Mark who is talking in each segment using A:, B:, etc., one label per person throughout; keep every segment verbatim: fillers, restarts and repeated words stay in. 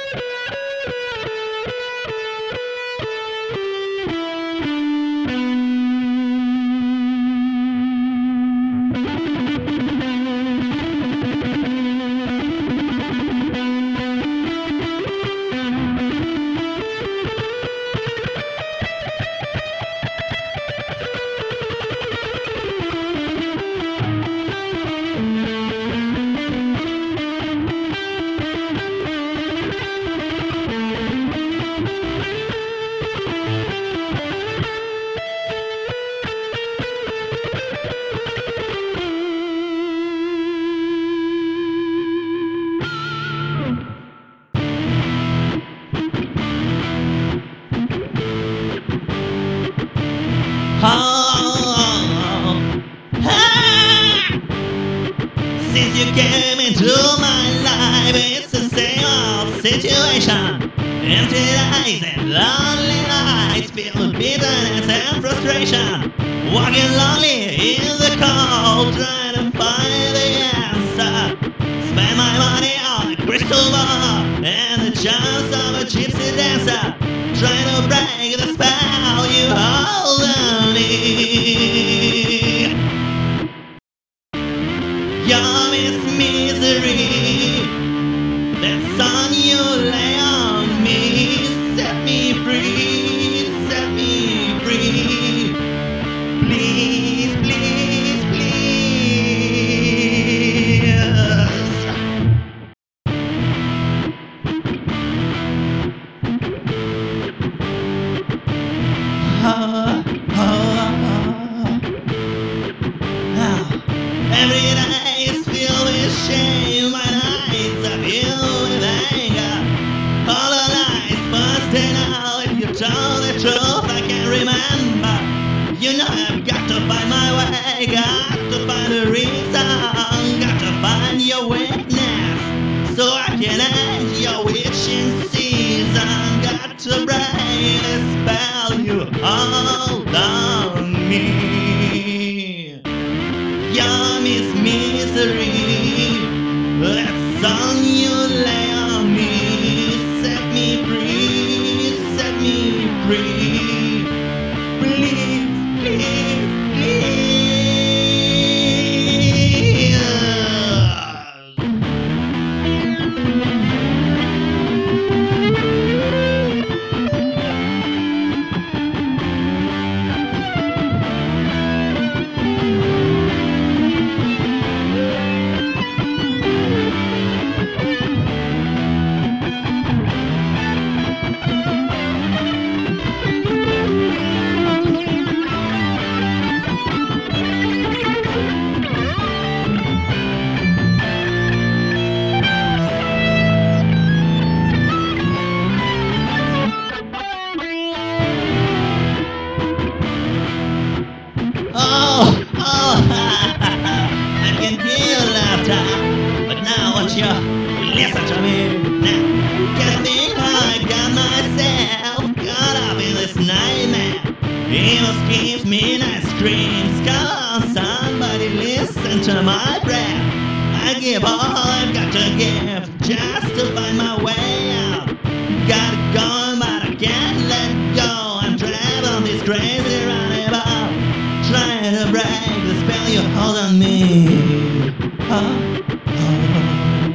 A: Oh, ah, since you came into my life, it's the same old situation. Empty days and lonely nights filled with bitterness and frustration. Walking lonely in the cold, trying to find the answer. Spend my money on a crystal ball and the charms of a gypsy dancer. Trying to break the spell you hold on me. Your Miss Misery, that sun you lay on me. Set me free, set me free. Please, please, please. Oh, oh, oh. Oh. Every day is filled with shame. My nights are filled with anger. All the lights busting out. If you told the truth, I can't remember. You know I've got to find my way. Got to find a reason. Got to find your weakness, so I can end your witching season. Got to break the spell you hold on me. Your Miss Misery, that song you lay on me. Set me free, set me free. Please, please, please. Oh, oh, I can hear your laughter, but now won't you listen to me now? Can't think how I got myself caught up in this nightmare. Evil schemes, midnight screams. Come on, somebody listen to my prayer. I give all I've got to give just to find my way out. Got it going, but I can't let go. I'm traveling this crazy roundabout, trying to break the spell you hold on me. Oh, oh.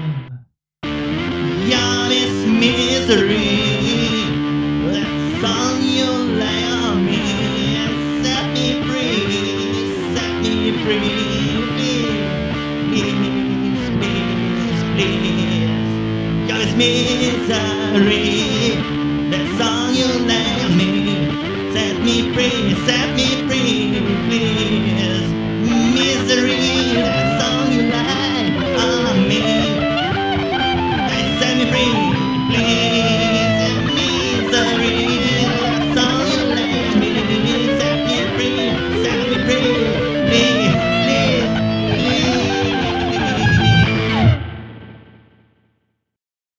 A: Your Miss Misery, that song you lay on me. And set me free, set me free. Please, please, please, please. Your Miss Misery.